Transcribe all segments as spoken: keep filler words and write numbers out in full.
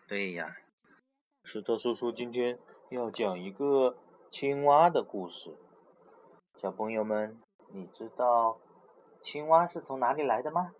对呀，石头叔叔今天要讲一个青蛙的故事。小朋友们，你知道青蛙是从哪里来的吗？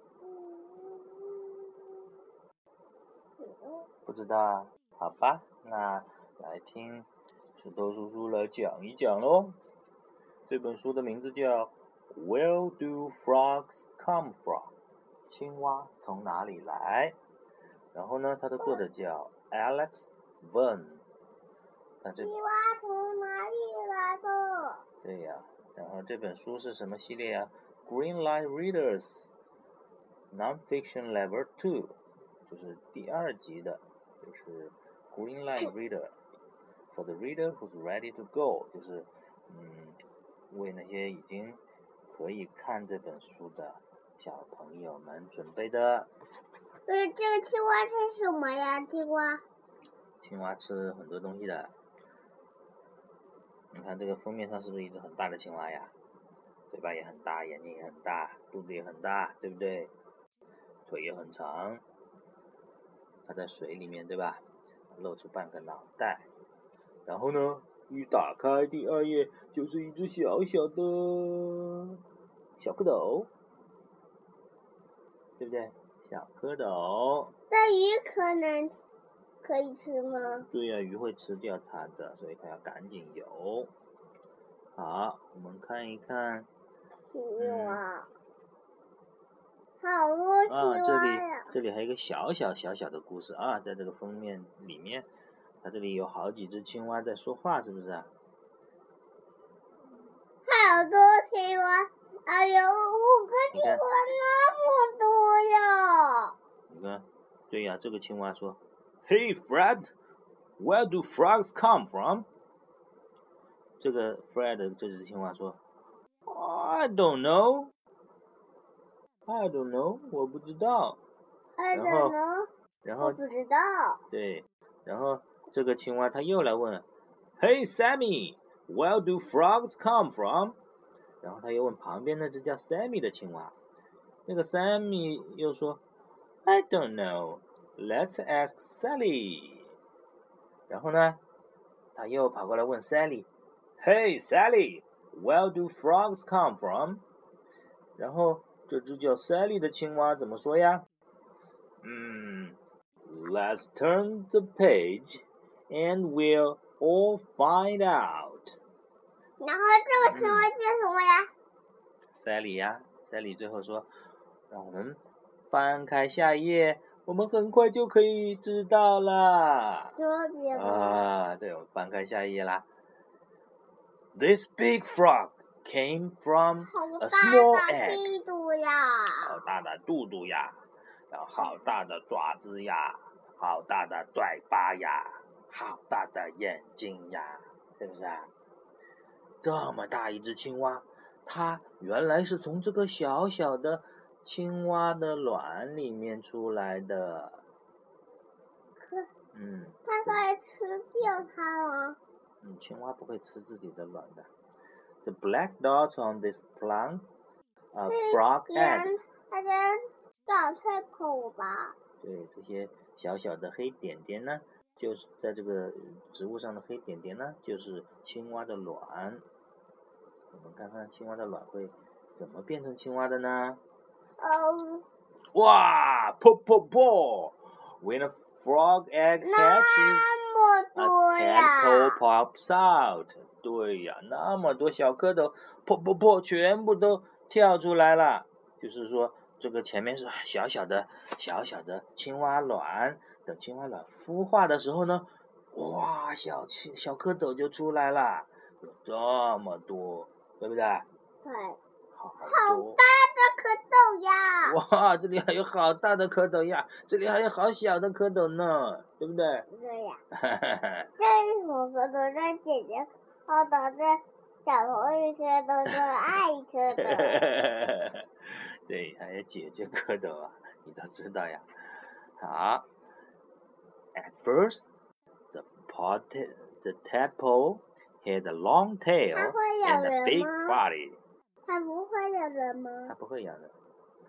不知道，好吧，那来听石头叔叔来讲一讲咯。这本书的名字叫 Where do frogs come from？ 青蛙从哪里来？然后呢，它的作者叫 Alex Verne。 青蛙从哪里来的？ 对呀，然后这本书是什么系列呀 ？Greenlight Readers Nonfiction Level Two， 就是第二级的，就是 Greenlight Reader for the reader who's ready to go， 就是嗯，为那些已经可以看这本书的小朋友们准备的。 呃，这个青蛙是什么呀？青蛙？ 青蛙吃很多东西的。你看这个封面上是不是一只很大的青蛙呀？嘴巴也很大，眼睛也很大，肚子也很大，对不对？腿也很长。它在水里面，对吧？露出半个脑袋。然后呢，一打开第二页，就是一只小小的小蝌蚪，对不对？小蝌蚪。 那鱼可能可以吃吗？ 对呀、啊，鱼会吃掉它的，所以它要赶紧游。好，我们看一看。 青蛙。嗯好多青蛙呀！ 啊，这里这里还有一个小小小小的故事啊，在这个封面里面，它这里有好几只青蛙在说话，是不是啊？ 好多青蛙，哎呦，五个青蛙那么多呀！ 你看，对呀，这个青蛙说 ，Hey Fred, where do frogs come from？ 这个 Fred 这只青蛙说 ，I don't know。I don't know， 我不知道。 I 然 don't 后 know， 然后我不知道。 对，然后这个青蛙它又来问 ，Hey Sammy, where do frogs come from？ 然后他又问旁边那只叫 Sammy 的青蛙，那个 Sammy 又说 I don't know, let's ask Sally。 然后呢，他又跑过来问 Sally，Hey Sally, where do frogs come from？ 然后这只叫 Sally 的青蛙怎么说呀？嗯 Let's turn the page and we'll all find out。 然后这个青蛙叫什么呀？ Sally 呀 Sally 最后说，让我们翻开下一页，我们很快就可以知道了。 这边啊，对，我翻开下一页啦。This big frog came from a small egg。 好大的肚肚呀，然后好大的爪子呀，好大的嘴巴呀，好大的眼睛呀，是不是啊？这么大一只青蛙，它原来是从这个小小的青蛙的卵里面出来的。嗯， 它可以吃掉它吗？ 嗯，青蛙不会吃自己的卵的。The black dots on this plant are frog eggs。 它在长菜口吧？ 对，这些小小的黑点点呢，就是在这个植物上的黑点点呢，就是青蛙的卵。我们看看青蛙的卵会怎么变成青蛙的呢？ 嗯。 哇 ，pop pop pop when a frog egg hatches, a tadpole pops out。 对呀，那么多小蝌蚪 pop pop pop 全部都跳出来了。就是说，这个前面是小小的小小的青蛙卵，等青蛙卵孵化的时候呢，哇，小青小蝌蚪就出来了，有这么多，对不对？ 对。 好好大的蝌蚪呀！ 哇，这里还有好大的蝌蚪呀，这里还有好小的蝌蚪呢，对不对？ 对呀。这是什么蝌蚪？这姐姐蝌蚪，这小头一蝌蚪，这爱蝌蚪。 对，还有姐姐蝌蚪啊，你都知道呀。好 ，At first, the pot, the tadpole had a long tail and a big body。 它不会咬人吗？ 它不会咬人，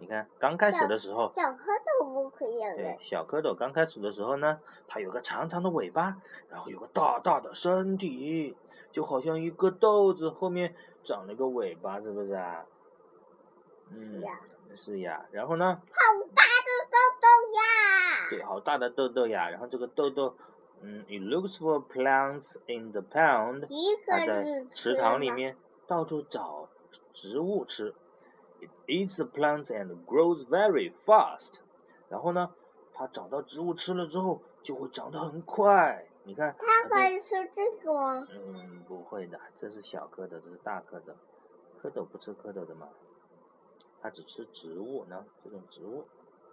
你看刚开始的时候， 小蝌蚪不可以有对，小蝌蚪刚开始的时候呢，它有个长长的尾巴，然后有个大大的身体，就好像一个豆子后面长了个尾巴，是不是啊？嗯， 是呀， 是呀。然后呢？ 好大的豆豆呀！ 对，好大的豆豆呀。然后这个豆豆，嗯 ，it looks for plants in the pond。它在池塘里面到处找植物吃。It eats the plants and grows very fast。然后呢，它找到植物吃了之后，就会长得很快。你看， 它可以吃这个吗？ 嗯，不会的，这是小蝌蚪，这是大蝌蚪。蝌蚪不吃蝌蚪的嘛，它只吃植物呢，这种植物。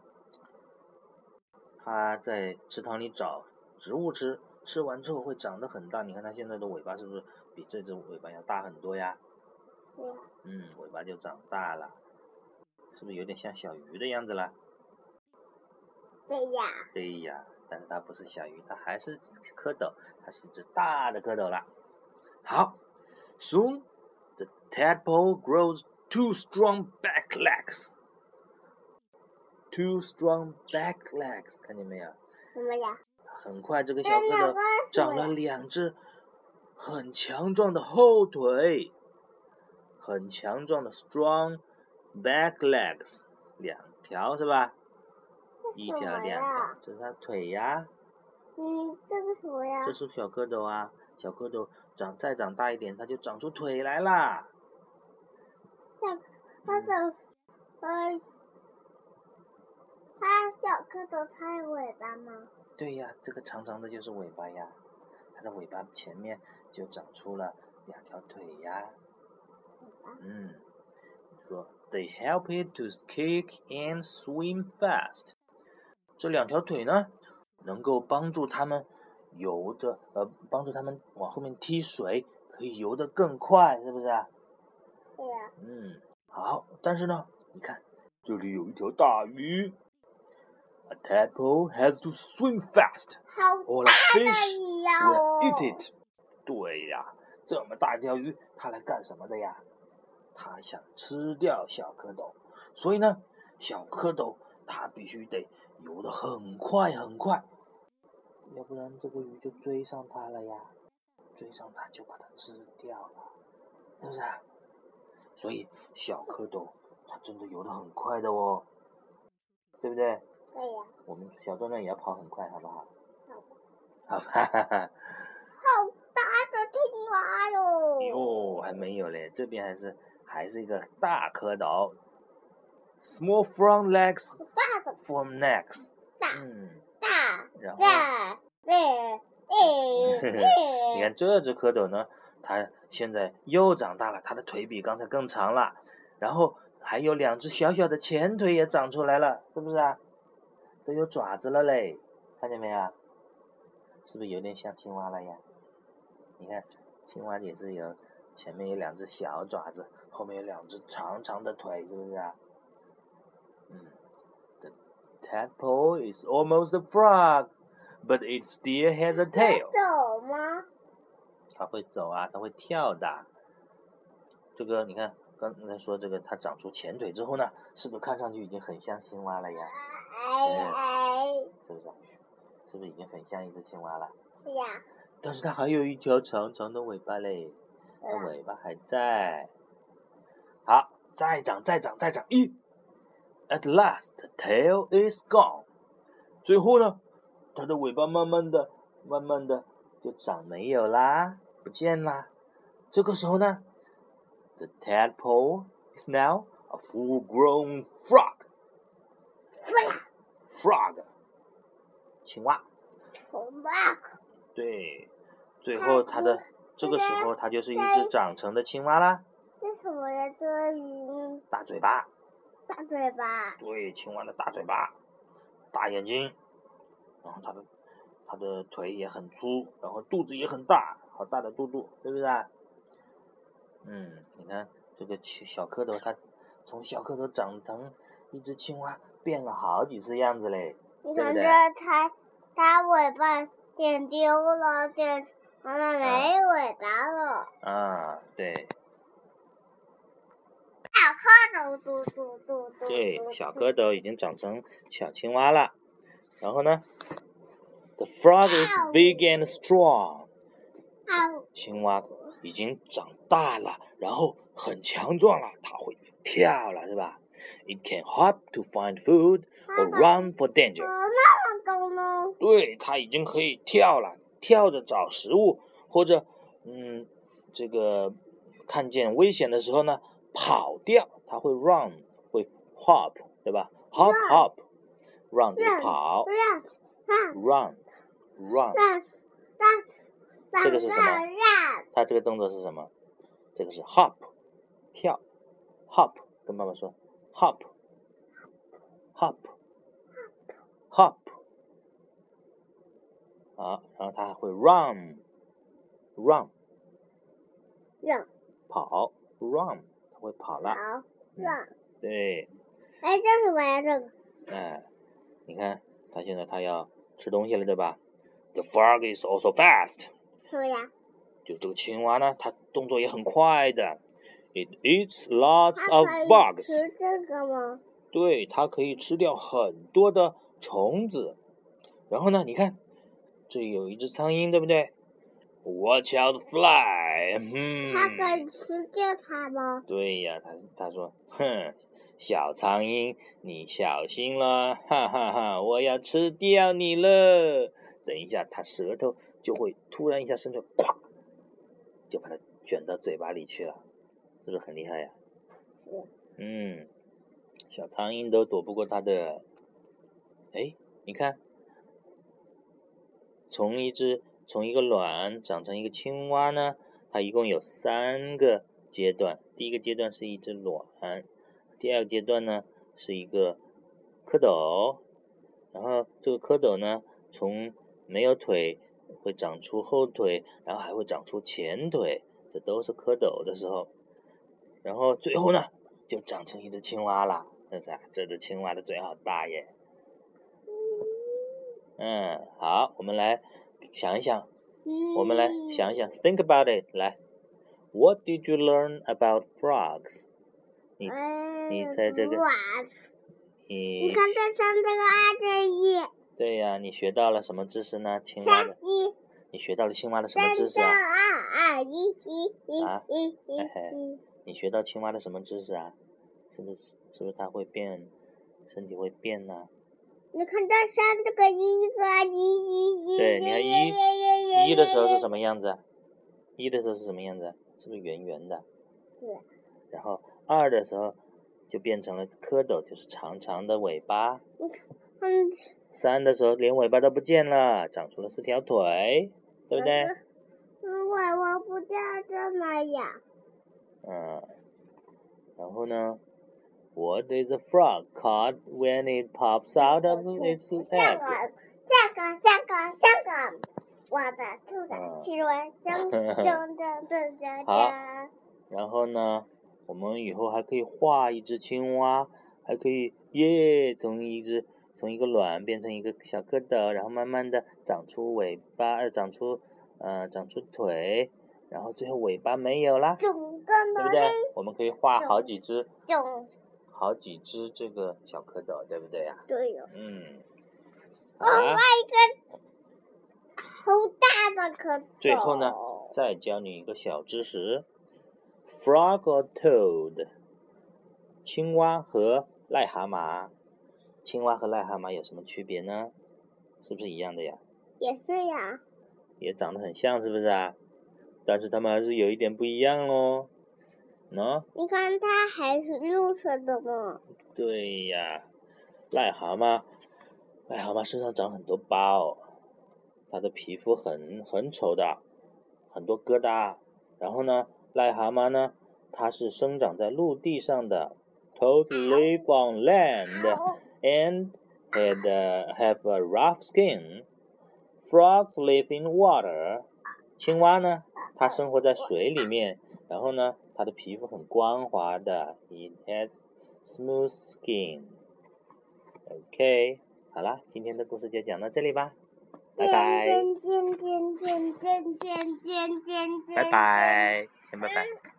它在池塘里找植物吃，吃完之后会长得很大。你看它现在的尾巴是不是比这只尾巴要大很多呀？ 对。 嗯，尾巴就长大了，是不是有点像小鱼的样子了？ 对呀。 对呀，但是它不是小鱼，它还是蝌蚪，它是一只大的蝌蚪了。好 ，Soon the tadpole grows two strong back legs. Two strong back legs， 看见没有？ 什么呀？ 很快，这个小蝌蚪长了两只很强壮的后腿，很强壮的 strong back legs， 两条是吧？一条两条，这是它腿呀。 嗯，这个什么呀？ 这是小蝌蚪啊，小蝌蚪长再长大一点，它就长出腿来啦。 小蝌蚪，呃，它小蝌蚪它有尾巴吗？ 对呀，这个长长的就是尾巴呀，它的尾巴前面就长出了两条腿呀。嗯，说 They help it to kick and swim fast。这两条腿呢，能够帮助它们游的，呃，帮助它们往后面踢水，可以游得更快，是不是啊？ 对呀。 嗯，好，但是呢，你看这里有一条大鱼。A tadpole has to swim fast, 好 or 大 a 的 fish 鱼呀 will eat it。对呀，这么大一条鱼，它来干什么的呀？它想吃掉小蝌蚪，所以呢，小蝌蚪它必须得游得很快很快，要不然这个鱼就追上它了呀，追上它就把它吃掉了，是不是啊？所以小蝌蚪它真的游得很快的哦，对不对？ 对呀。 我们小壮壮也要跑很快，好不好？ 好。 好吧。 好大的青蛙哟！ 哟，还没有嘞，这边还是还是一个大蝌蚪。Small front legs 大的 from necks。 大。 嗯。 大。 然后。 大。对。对。 你看这只蝌蚪呢，它现在又长大了，它的腿比刚才更长了，然后还有两只小小的前腿也长出来了，是不是啊？都有爪子了嘞，看见没有？是不是有点像青蛙了呀？你看，青蛙也是有前面有两只小爪子，后面有两只长长的腿，是不是啊？嗯 ，The tadpole is almost a frog, but it still has a tail。 走吗？ 它会走啊，它会跳的。这个你看，刚才说这个它长出前腿之后呢，是不是看上去已经很像青蛙了呀？ 哎哎， 是不是？是不是已经很像一只青蛙了？ 是呀。 但是它还有一条长长的尾巴嘞，它尾巴还在。好，再长，再长，再长，一 ，At last, the tail is gone。最后呢，它的尾巴慢慢的、慢慢的就长没有啦，不见啦。这个时候呢 ，the tadpole is now a full-grown frog。frog， 青蛙。 frog。 对，最后它的这个时候它就是一只长成的青蛙啦。 为什么呀？这个鱼大嘴巴。 大嘴巴。 对，青蛙的大嘴巴，大眼睛，然后它的它的腿也很粗，然后肚子也很大，好大的肚肚，对不对？嗯，你看这个小蝌蚪，它从小蝌蚪长成一只青蛙，变了好几次样子嘞， 你对不对？ 它它尾巴剪丢了，剪完了没尾巴了。 啊，对。 小蝌蚪嘟嘟嘟嘟。 对，小蝌蚪已经长成小青蛙了。然后呢 ，The frog is big and strong。青蛙已经长大了，然后很强壮了，它会跳了，是吧 ？It can hop to find food or run for danger。 那么高呢？ 对，它已经可以跳了，跳着找食物，或者嗯，这个看见危险的时候呢，跑掉。它会 run， 会 hop， 对吧 ？hop hop，run 就是跑 ，run run。这个是什么？它这个动作是什么？这个是 hop， 跳 ，hop， 跟爸爸说 hop hop hop。好，然后它还会 run run run 跑 run， 它会跑了。 跑 run。 对。 哎，这是什么呀？这个。 哎，你看，它现在它要吃东西了，对吧 ？The frog is also fast。 什么呀？ 就这个青蛙呢，它动作也很快的。It eats lots of bugs。 吃这个吗？ 对，它可以吃掉很多的虫子。然后呢，你看，这有一只苍蝇，对不对 ？Watch out, fly。嗯。 它可以吃掉它吗？ 对呀，他他说，哼，小苍蝇，你小心了，哈哈哈，我要吃掉你了。等一下，它舌头就会突然一下伸出，咵，就把它卷到嘴巴里去了，是不是很厉害呀？嗯，小苍蝇都躲不过它的。哎，你看，从一只从一个卵长成一个青蛙呢，它一共有三个阶段。第一个阶段是一只卵，第二个阶段呢是一个蝌蚪，然后这个蝌蚪呢从没有腿会长出后腿，然后还会长出前腿，这都是蝌蚪的时候。然后最后呢就长成一只青蛙了，是不是啊？这只青蛙的嘴好大耶。嗯，好，我们来想一想，我们来想一想 ，think about it， 来 ，What did you learn about frogs？ 你你在这个，你你看这上这个二这一。 对呀、啊，你学到了什么知识呢？青蛙的。 一。 你学到了青蛙的什么知识啊？ 三二二一一一啊， 一一一。你学到青蛙的什么知识啊？是不是是不是它会变，身体会变呢、啊？ 你看这上这个一个一一一。 对，你看一一的时候是什么样子？一的时候是什么样子？是不是圆圆的？ 是。 然后二的时候就变成了蝌蚪，就是长长的尾巴。 嗯。 三的时候连尾巴都不见了，长出了四条腿，对不对？ 嗯，尾巴不见这么样。 嗯，然后呢 ？What is a frog called when it pops out of its egg？ 下个下个下个下个，我的兔子亲吻铮铮铮铮铮。 好，然后呢？我们以后还可以画一只青蛙，还可以耶，从一只从一个卵变成一个小蝌蚪，然后慢慢的长出尾巴，呃，长出呃长出腿，然后最后尾巴没有啦，对不对？我们可以画好几只，好几只这个小蝌蚪，对不对呀？ 对呀。 嗯。 我画一个好大的蝌蚪。 最后呢，再教你一个小知识。Frog or toad？ 青蛙和癞蛤蟆，青蛙和癞蛤蟆有什么区别呢？是不是一样的呀？ 也是呀。 也长得很像，是不是啊？但是它们还是有一点不一样哦。喏。 你看它还是绿色的吗？ 对呀，癞蛤蟆，癞蛤蟆身上长很多包，它的皮肤很很丑的，很多疙瘩。然后呢，癞蛤蟆呢？它是生长在陆地上的 ，Toads live on land and had uh, have a rough skin. Frogs live in water. 青蛙呢，它生活在水里面，然后呢，它的皮肤很光滑的 ，It has smooth skin. OK， 好啦，今天的故事就讲到这里吧，拜拜。拜拜，先拜拜。